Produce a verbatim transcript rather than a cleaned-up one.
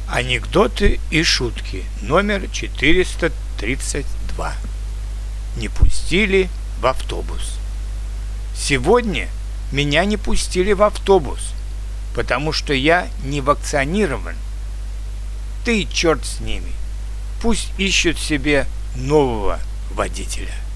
Анекдоты и шутки номер четыреста тридцать два. Не пустили в автобус. Сегодня меня не пустили в автобус, потому что я не вакцинирован. Ты черт с ними. Пусть ищут себе нового водителя.